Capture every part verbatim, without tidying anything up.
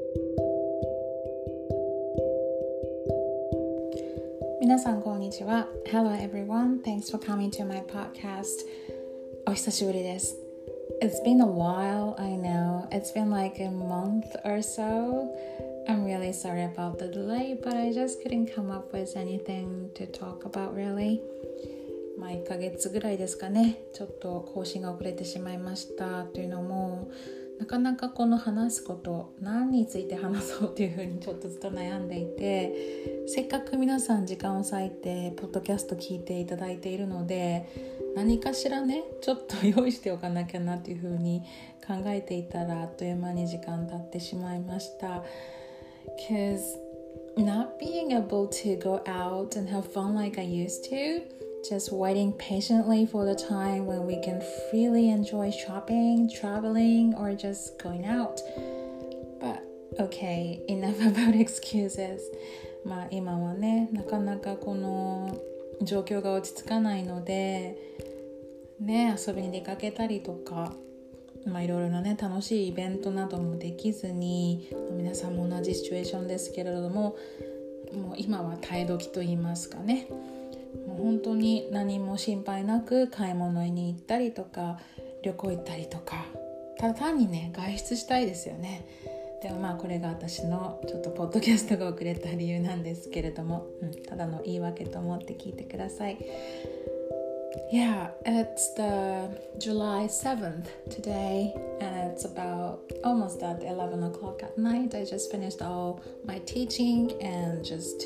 皆さんこんにちは。 Hello everyone, thanks for coming to my podcast. お久しぶりです。 It's been a while, I know. It's been like a month or so. I'm really sorry about the delay, but I just couldn't come up with anything to talk about really. まあいっかげつぐらいですかね。ちょっと更新が遅れてしまいましたというのも、なかなかこの話すこと何について話そうというふうにちょっとずっと悩んでいて、せっかく皆さん時間を割いてポッドキャスト聞いていただいているので、何かしらねちょっと用意しておかなきゃなというふうに考えていたら、あっという間に時間経ってしまいました。 Because not being able to go out and have fun like I used to, just waiting patiently for the time when we can freely enjoy shopping, traveling, or just going out. But okay, enough about excuses. まあ今はね、なかなかこの状況が落ち着かないので、ね、遊びに出かけたりとか、まあいろいろなね楽しいイベントなどもできずに、皆さんも同じシチュエーションですけれども、もう今は耐え時と言いますかね。もう本当に何も心配なく買い物に行ったりとか旅行行ったりとか、ただ単にね外出したいですよね。でもまあこれが私のちょっとポッドキャストが遅れた理由なんですけれども、うん、ただの言い訳と思って聞いてください。Yeah, it's the July seventh today, and it's about almost at eleven o'clock at night. I just finished all my teaching and just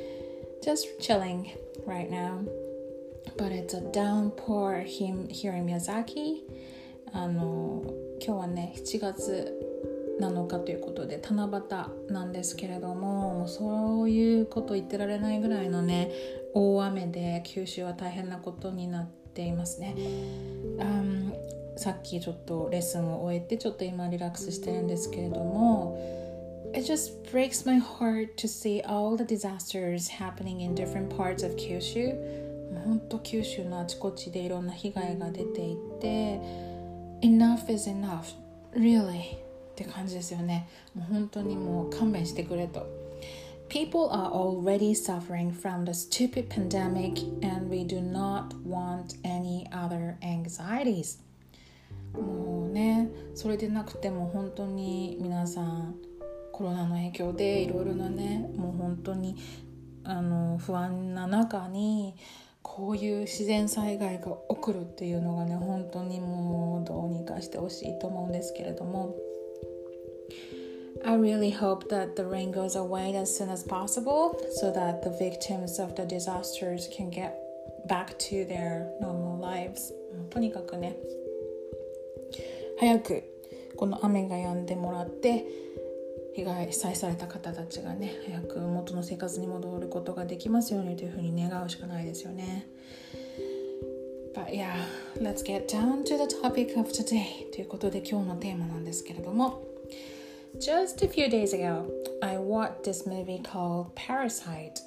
just chilling right now. But it's a downpour here in Miyazaki. あの今日はねしちがつなのかということで七夕なんですけれども、もうそういうこと言ってられないぐらいのね大雨で九州は大変なことになっていますね。um, さっきちょっとレッスンを終えてちょっと今リラックスしてるんですけれども、It just breaks my heart to see all the disasters happening in different parts of 九州。本当九州のあちこちでいろんな被害が出ていて、Enough is enough, really って感じですよね。もう本当にもう勘弁してくれと。People are already suffering from the stupid pandemic, and we do not want any other anxieties. もうね、それでなくても本当に皆さんコロナの影響でいろいろなね、もう本当にあの不安な中にこういう自然災害が起こるっていうのがね、本当にもうどうにかしてほしいと思うんですけれども、I really hope that the rain goes away as soon as possible so that the victims of the disasters can get back to their normal lives. とにかくね、早くこの雨が止んでもらって被害被災された方たちがね早く元の生活に戻ることができますようにというふうに願うしかないですよね。But yeah, let's get down to the topic of today ということで今日のテーマなんですけれども、Just a few days ago, I watched this movie called Parasite,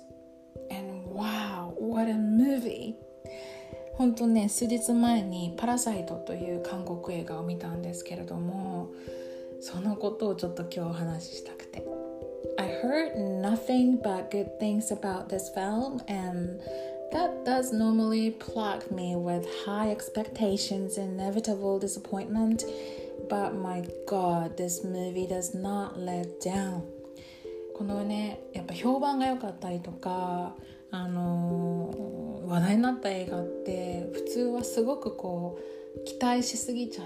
and wow, what a movie! 本当ね、数日前にパラサイトという韓国映画を見たんですけれども、そのことをちょっと今日お話ししたくて。I heard nothing but good things about this film, and that does normally plague me with high expectations and inevitable disappointment.But my God, this movie does not let down. このね、やっぱ評判が良かったりとか、あのー、話題になった映画って普通はすごくこう期待しすぎちゃって、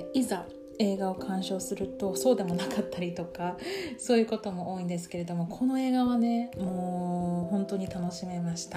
いざ映画を鑑賞するとそうでもなかったりとか、そういうことも多いんですけれども、この映画はね、もう本当に楽しめました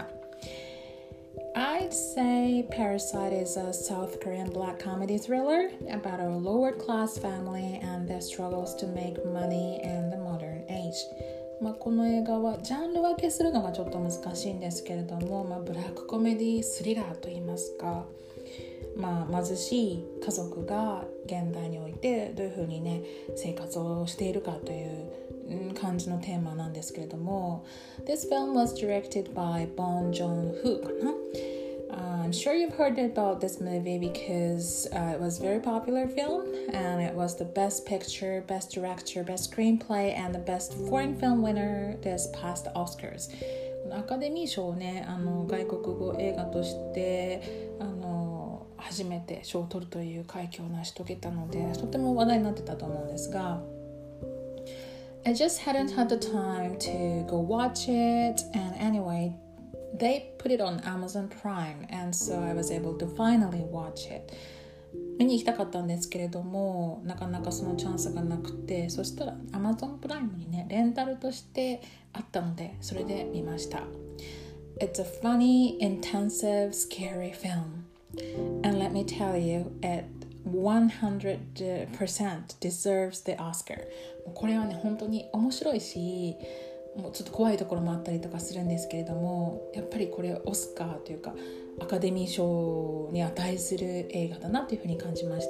。I'd say Parasite is a South Korean black comedy thriller about a lower-class family and their struggles to make money in the modern age. まあ、この映画はジャンル分けするのがちょっと難しいんですけれども、まあ、ブラックコメディスリラーといいますか、まあ、貧しい家族が現代においてどういうふうにね生活をしているかという感じのテーマなんですけれども、 This film was directed by Bong Joon-ho かな。Uh, I'm sure you've heard about this movie because uh, it was a very popular film and it was the best picture, best director, best screenplay and the best foreign film winner this past Oscars. アカデミー賞をね、あの外国語映画としてあの初めて賞を取るという快挙を成し遂げたので、とても話題になってたと思うんですが、I just hadn't had the time to go watch it, and anyway,They put it on Amazon Prime, and so I was able to finally watch it. 見に行きたかったんですけれども、なかなかそのチャンスがなくて、そしたら Amazon Prime にね、レンタルとしてあったので、それで見ました。It's a funny, intensive, scary film. And let me tell you, it one hundred percent deserves the Oscar. これはね、本当に面白いし、もうちょっと怖いところもあったりとかするんですけれども、やっぱりこれオスカーというかアカデミー賞に値する映画だなというふうに感じました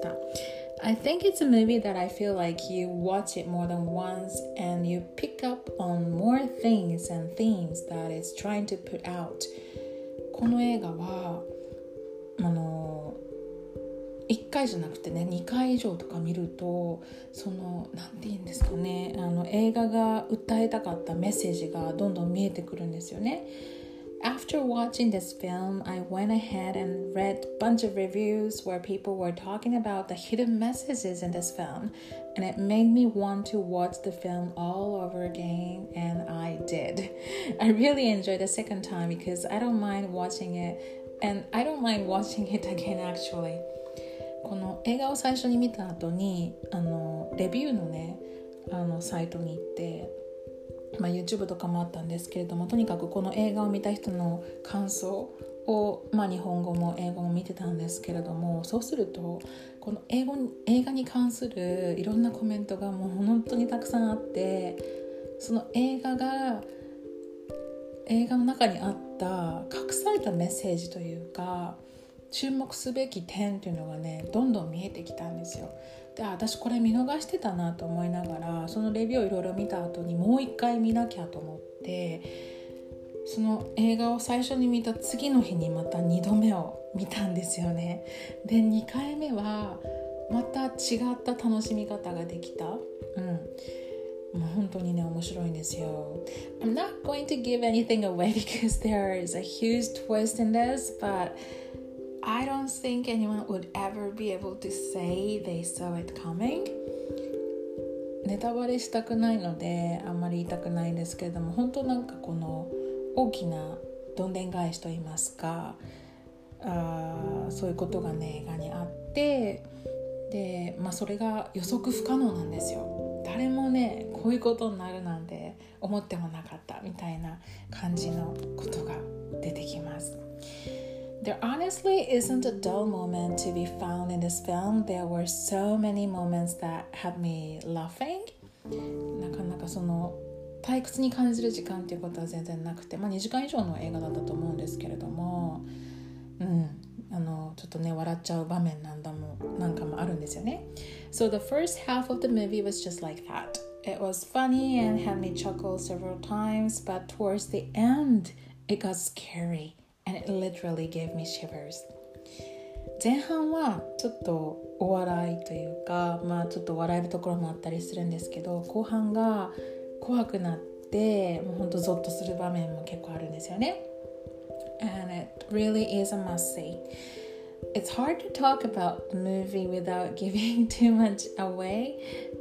。I think it's a movie that I feel like you watch it more than once and you pick up on more things and themes that it's trying to put out. この映画はあのいっかいじゃなくてねにかい以上とか見るとそのなんて言うんですかねあの映画が訴えたかったメッセージがどんどん見えてくるんですよね。After watching this film, I went ahead and read a bunch of reviews where people were talking about the hidden messages in this film, and it made me want to watch the film all over again, and I did. I really enjoyed the second time because I don't mind watching it, and I don't mind watching it again actually.この映画を最初に見た後にあのレビューのねあのサイトに行って、まあ、YouTube とかもあったんですけれども、とにかくこの映画を見た人の感想を、まあ、日本語も英語も見てたんですけれども、そうするとこの英語映画に関するいろんなコメントがもう本当にたくさんあって、その映画が映画の中にあった隠されたメッセージというか注目すべき点というのがねどんどん見えてきたんですよ。で、私これ見逃してたなと思いながらそのレビューをいろいろ見た後にもう一回見なきゃと思ってその映画を最初に見た次の日にまたにどめを見たんですよね。でにかいめはまた違った楽しみ方ができた。うんもう本当にね面白いんですよ。I'm not going to give anything away because there is a huge twist in this, but I don't think anyone would ever be able to say they saw it coming. ネタバレしたくないのであんまり言いたくないんですけれども、本当なんかこの大きなどんでん返しといいますか、あそういうことがね映画にあって、で、まあ、それが予測不可能なんですよ。誰もねこういうことになるなんて思ってもなかったみたいな感じのことが出てきます。There honestly isn't a dull moment to be found in this film. There were so many moments that had me laughing. なかなかその退屈に感じる時間っていうことは全然なくて、まあ、にじかん以上の映画だったと思うんですけれども、うん、あのちょっとね笑っちゃう場面なんだもなんかもあるんですよね。So the first half of the movie was just like that. It was funny and had me chuckle several times, but towards the end, it got scary.And it literally gave me shivers. 前半はちょっとお笑いというか、まあちょっと笑えるところもあったりするんですけど、後半が怖くなってもうほんとゾッとする場面も結構あるんですよね。And it really is a must see. It's hard to talk about the movie without giving too much away,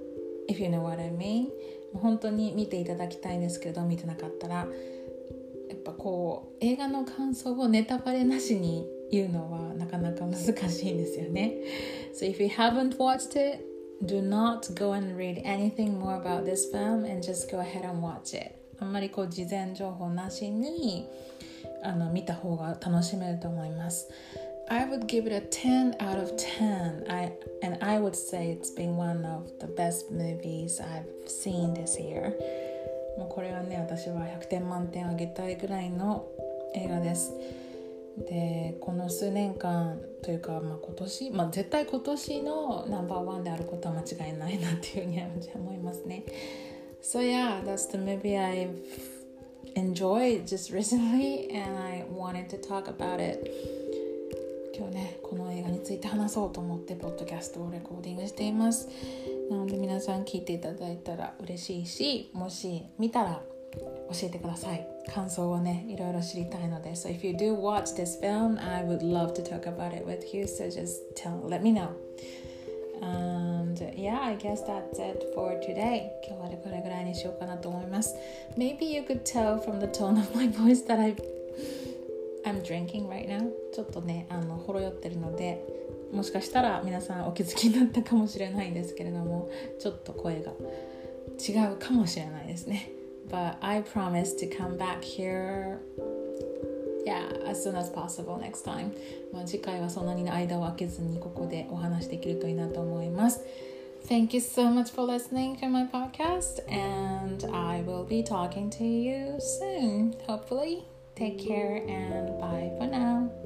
if you know what I mean. 本当に見ていただきたいんですけど、見てなかったらやっぱこう映画の感想をネタバレなしに言うのはなかなか難しいんですよね。So if you haven't watched it, do not go and read anything more about this film and just go ahead and watch it. あんまりこう事前情報なしにあの見た方が楽しめると思います。I would give it a ten out of ten. I, and I would say it's been one of the best movies I've seen this year.もうこれはね私はひゃくてん満点あげたいぐらいの映画です。でこの数年間というか、まあ、今年、まあ、絶対今年のナンバーワンであることは間違いないなっていうふうに思いますね。So yeah, that's the movie I've enjoyed just recently and I wanted to talk about it. 今日ねこの映画について話そうと思ってポッドキャストをレコーディングしています。なので皆さん聞いていただいたら嬉しいし、もし見たら教えてください。感想をねいろいろ知りたいので。 So if you do watch this film, I would love to talk about it with you, so just tell, let me know. And yeah, I guess that's it for today. 今日はこれぐらいにしようかなと思います。 Maybe you could tell from the tone of my voice that I, I'm drinking right now. ちょっとねあのほろ酔ってるので、もしかしたら皆さんお気づきになったかもしれないんですけれども、ちょっと声が違うかもしれないですね。But I promise to come back here, yeah, as soon as possible next time. まあ次回はそんなに間を空けずにここでお話できるといいなと思います。Thank you so much for listening to my podcast, and I will be talking to you soon, hopefully. Take care and bye for now.